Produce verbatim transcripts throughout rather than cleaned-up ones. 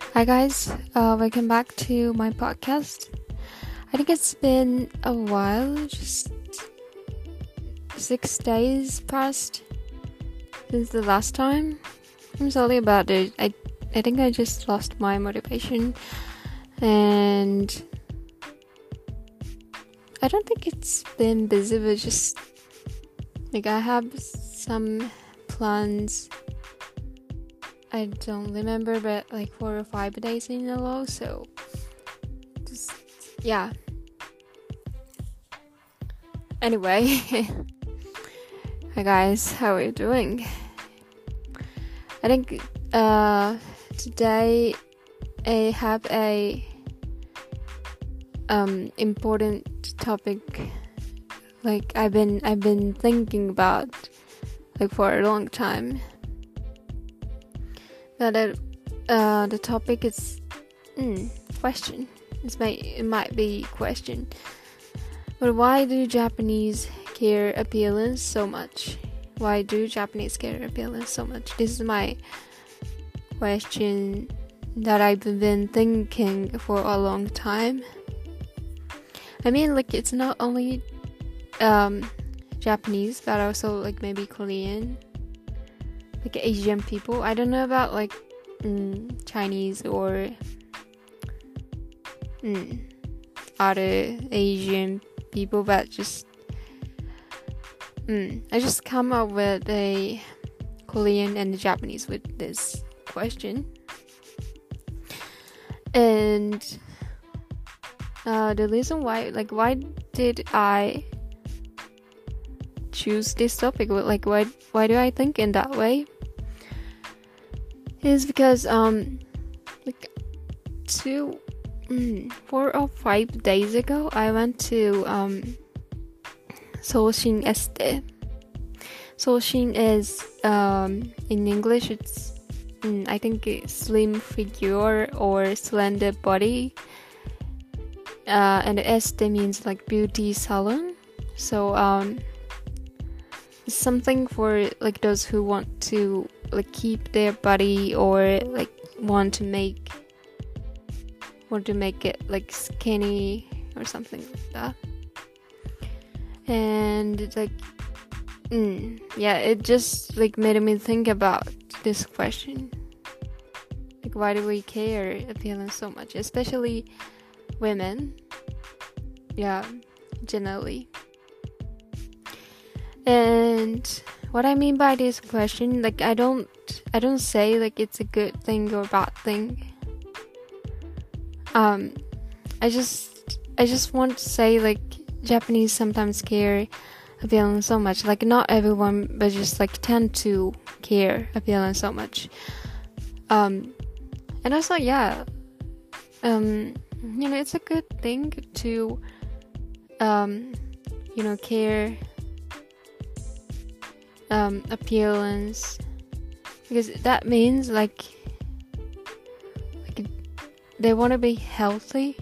Hi guys, uh, welcome back to my podcast. I think it's been a while, just six days passed since the last time. I'm sorry about it. I I think I just lost my motivation, and I don't think it's been busy, but just like I have some plans. I don't remember, but like four or five days in a row, so just, yeah. Anyway, hi guys, how are you doing? I think uh, today I have a um, important topic, like I've been I've been thinking about like for a long time. Now that uh, the topic is mm, question. This might it might be question. But why do Japanese care appearance so much? Why do Japanese care appearance so much? This is my question that I've been thinking for a long time. I mean, like it's not only um, Japanese, but also like maybe Korean. Like Asian people. I don't know about like mm, Chinese or mm, other Asian people, but just mm, I just come up with a Korean and Japanese with this question. And uh, the reason why, like, why did I choose this topic? Like, why why do I think in that way? Is because um like two mm, four or five days ago I went to um Soushin Este. Soushin is um in English it's mm, I think it's slim figure or slender body, uh, and Este means like beauty salon. So um something for like those who want to like keep their body or like want to make want to make it like skinny or something like that. And it's like mm, yeah it just like made me think about this question, like why do we care appearance so much, especially women, yeah, generally. And what I mean by this question, like I don't I don't say like it's a good thing or bad thing. Um I just I just want to say like Japanese sometimes care appearance so much. Like not everyone, but just like tend to care appearance so much. Um and also yeah. Um you know, it's a good thing to um you know care Um, appearance, because that means like like they want to be healthy.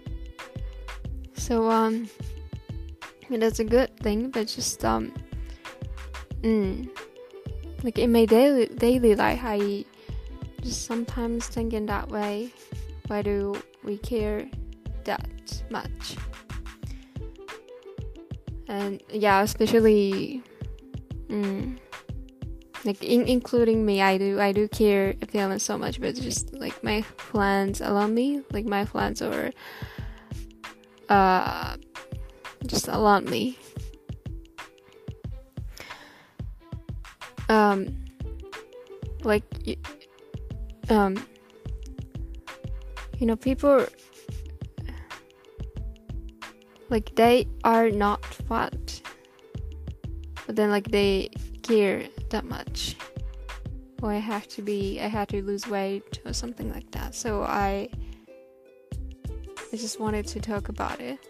So um, yeah, that's a good thing. But just um, mm, like in my daily daily life, I just sometimes think in that way. Why do we care that much? And yeah, especially. Mm. Like in, including me, I do I do care appearance so much, but just like my friends around me, like my friends or uh, just around me. Um, like um, you know, people like they are not fat. But then like they care that much, or I have to be I have to lose weight or something like that. So I I just wanted to talk about it.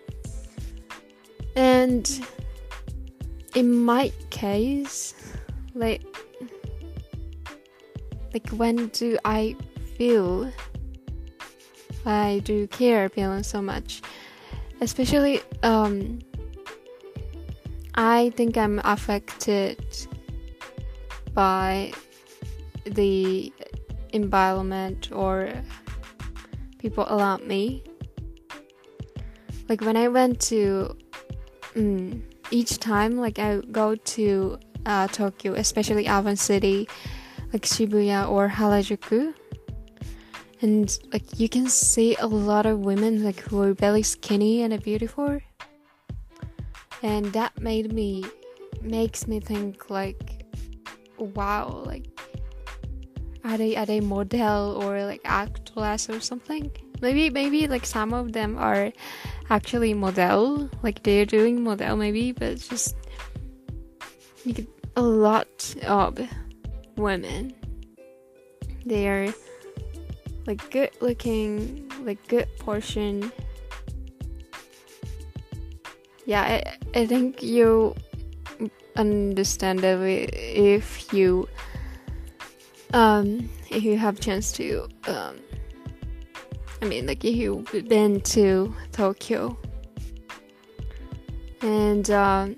And in my case, like like when do I feel I do care appearance so much? Especially um I think I'm affected by the environment or people around me. Like when I went to mm, each time like I go to uh, Tokyo, especially urban city like Shibuya or Harajuku, and like you can see a lot of women like who are very skinny and beautiful, and that made me makes me think like, wow, like are they are they model or like actress or something? Maybe maybe like some of them are actually model, like they're doing model maybe, but it's just like a lot of women, they are like good looking, like good portion. Yeah, I, I think you understand that if you um if you have chance to um I mean like if you've been to Tokyo. And um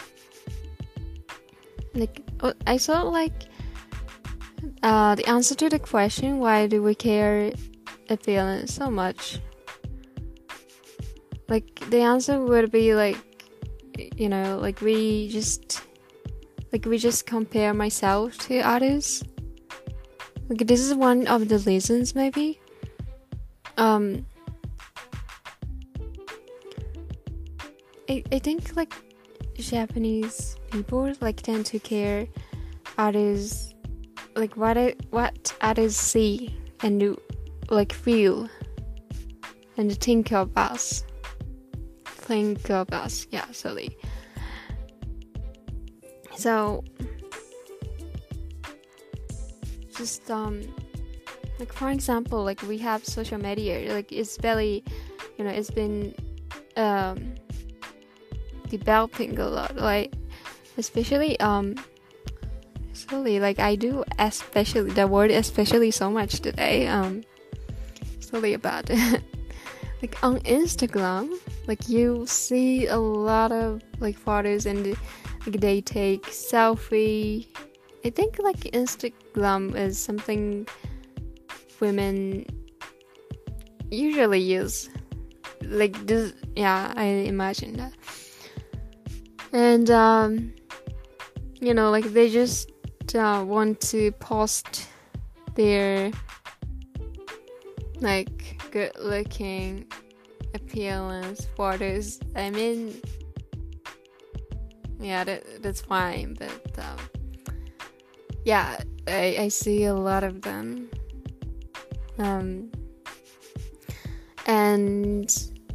like I saw like uh the answer to the question, why do we care appearance so much, like the answer would be like, you know, like we just like we just compare myself to others. Like this is one of the reasons maybe. Um I I think like Japanese people like tend to care others, like what I, what others see and do, like feel and think of us. Think of us, yeah, sorry. So just um like for example, like we have social media, like it's very, you know, it's been um developing a lot, like especially um sorry, like I do especially the word especially so much today, um sorry about it. Like on Instagram, like you see a lot of like photos and like they take selfie. I think like Instagram is something women usually use, like this, yeah, I imagine that. And um you know, like they just uh, want to post their like good looking appearance photos. I mean, yeah, that, that's fine, but um, yeah, I, I see a lot of them, um, and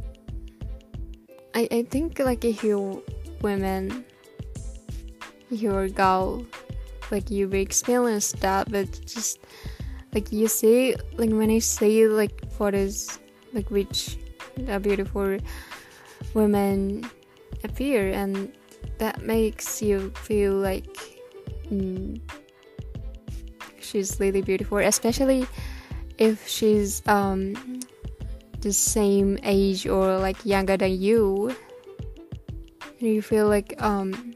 I I think like if you women, if you're a girl, like you've experienced that, but just like you see, like when you see like photos like which a beautiful women appear, and that makes you feel like mm, she's really beautiful, especially if she's um the same age or like younger than you, and you feel like um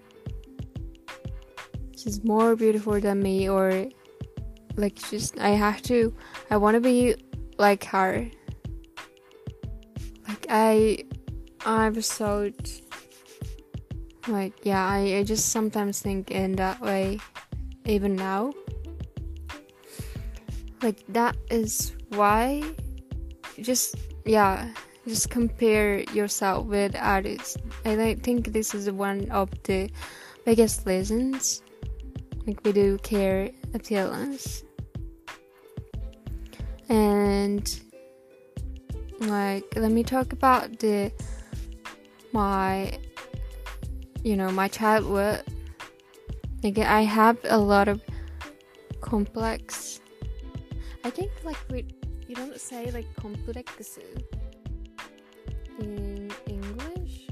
she's more beautiful than me, or like just I have to I want to be like her. Like I I've thought like yeah I, I just sometimes think in that way even now. Like that is why just yeah just compare yourself with others. And I think this is one of the biggest reasons like we do care appearance. And like let me talk about the my you know my childhood. Like I have a lot of complex. I think like we you don't say like complex in English.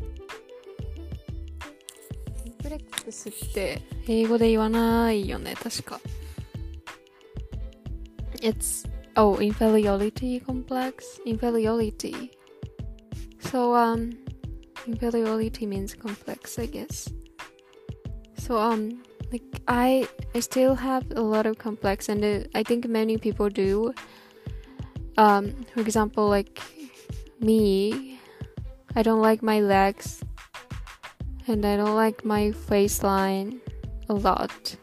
コンプレックスって英語で言わないよね、確か。It's oh inferiority complex, inferiority. So um inferiority means complex, I guess. So um like I I still have a lot of complex, and uh, I think many people do. um for example, like me, I don't like my legs and I don't like my waistline a lot.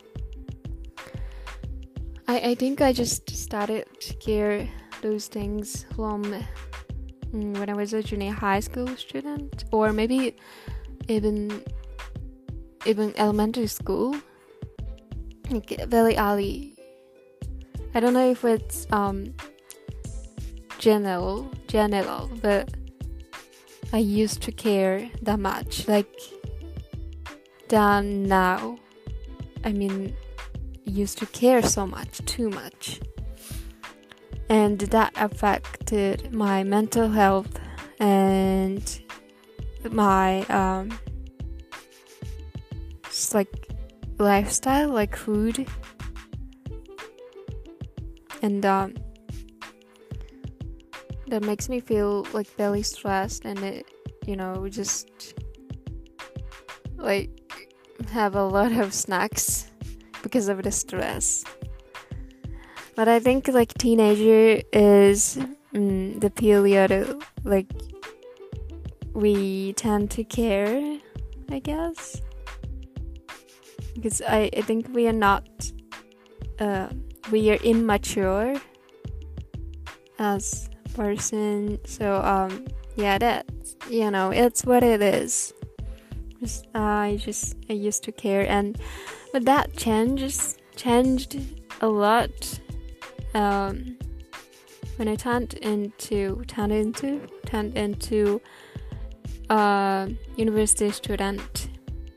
I, I think I just started to care those things from mm, when I was a junior high school student, or maybe even even elementary school, like very early. I don't know if it's um general general, but I used to care that much, like than now. I mean, used to care so much, too much, and that affected my mental health and my um just like lifestyle, like food, and um that makes me feel like very stressed, and it, you know, just like have a lot of snacks because of the stress. But I think like teenager is mm, the period like we tend to care, I guess, because I, I think we are not uh, we are immature as person, so um yeah, that's, you know, it's what it is. Just, uh, I just I used to care, and but that changes changed a lot um when I turned into turned into turned into a university student,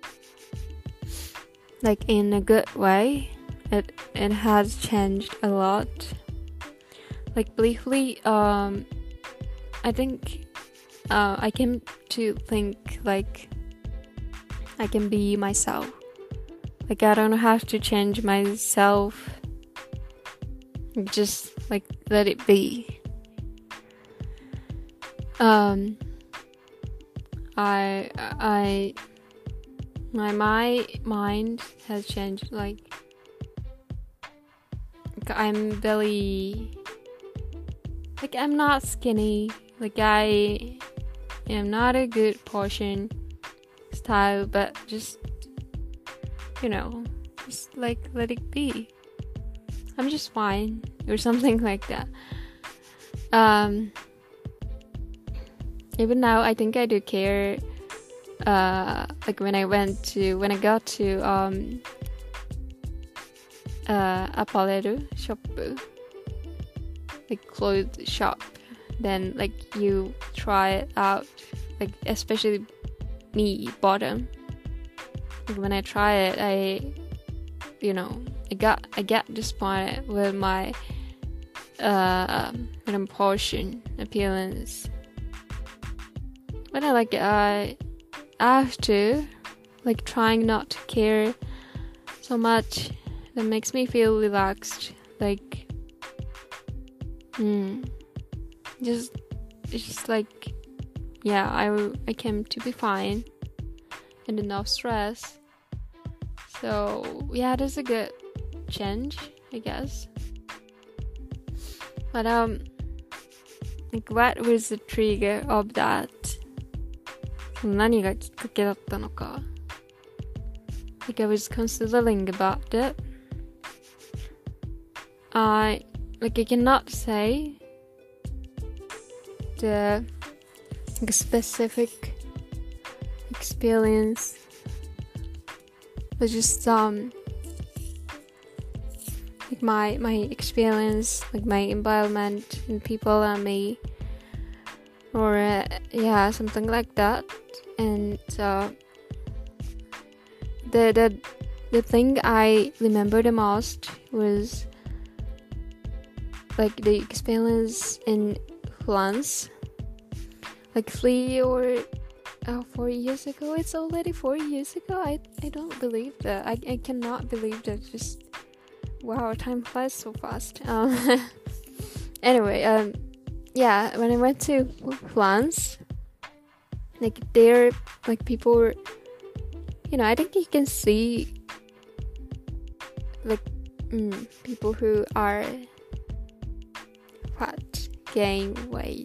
like in a good way. It it has changed a lot. Like briefly, um, I think uh, I came to think like I can be myself. Like I don't have to change myself. Just like let it be. Um, I I my my mind has changed. Like I'm very. Like, I'm not skinny. Like, I am not a good portion style, but just, you know, just, like, let it be. I'm just fine, or something like that. Um, even now, I think I do care, uh, like, when I went to, when I got to, um, uh, Apaleru shop, like clothes shop, then like you try it out, like especially me bottom. Like when I try it, I, you know, I got I get disappointed with my uh proportion appearance. But I like I after like trying not to care so much, that makes me feel relaxed, like. Mm. Just, it's just like, yeah, I, I came to be fine and enough stress. So, yeah, that's a good change, I guess. But, um, like, what was the trigger of that? 何がきっかけだったのか? Like, I was considering about it. I Like I cannot say the like, specific experience, but just um like my my experience, like my environment and people and me, or uh, yeah, something like that. And uh, the the the thing I remember the most was like the experience in France, like three or uh, four years ago. It's already four years ago. I I don't believe that. I I cannot believe that. Just wow, time flies so fast. Um, anyway, um, yeah, when I went to France, like there, like people were, you know, I think you can see like mm, people who are fat, gain weight.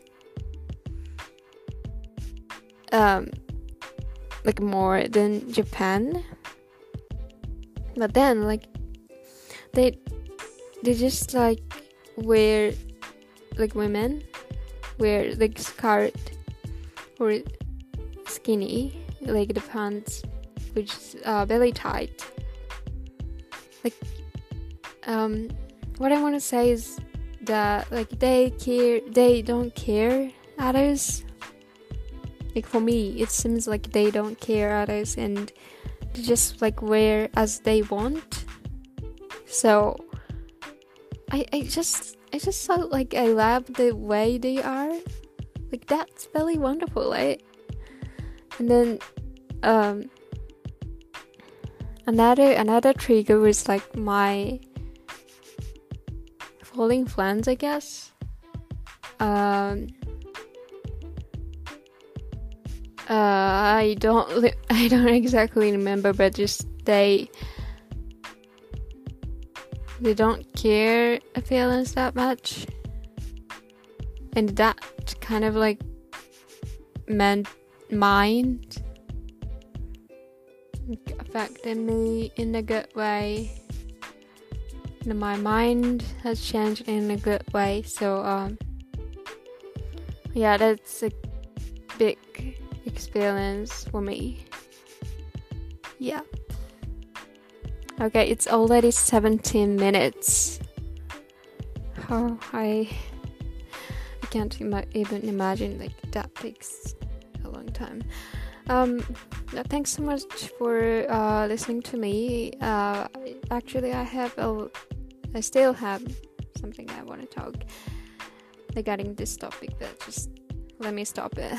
Um, like more than Japan. But then, like, they they just like wear, like women wear like skirt or skinny, like the pants which is uh, belly tight. Like, um, what I want to say is that like they care, they don't care others. Like for me, it seems like they don't care others and they just like wear as they want. So I I just I just felt like I love the way they are. Like that's very wonderful, right? And then um another another trigger was like my falling friends, I guess. Um Uh, I don't, I don't exactly remember, but just they, they don't care appearance that much, and that kind of like meant mind affected me in a good way. And my mind has changed in a good way. So um, yeah, that's a big experience for me. Yeah. Okay, it's already seventeen minutes. Oh, I I can't ima- even imagine like that takes a long time. Um, thanks so much for uh, listening to me. Uh, actually, I have a, I still have something I want to talk regarding this topic, but just let me stop it.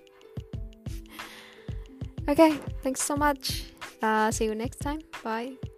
Okay, thanks so much. Uh, see you next time. Bye.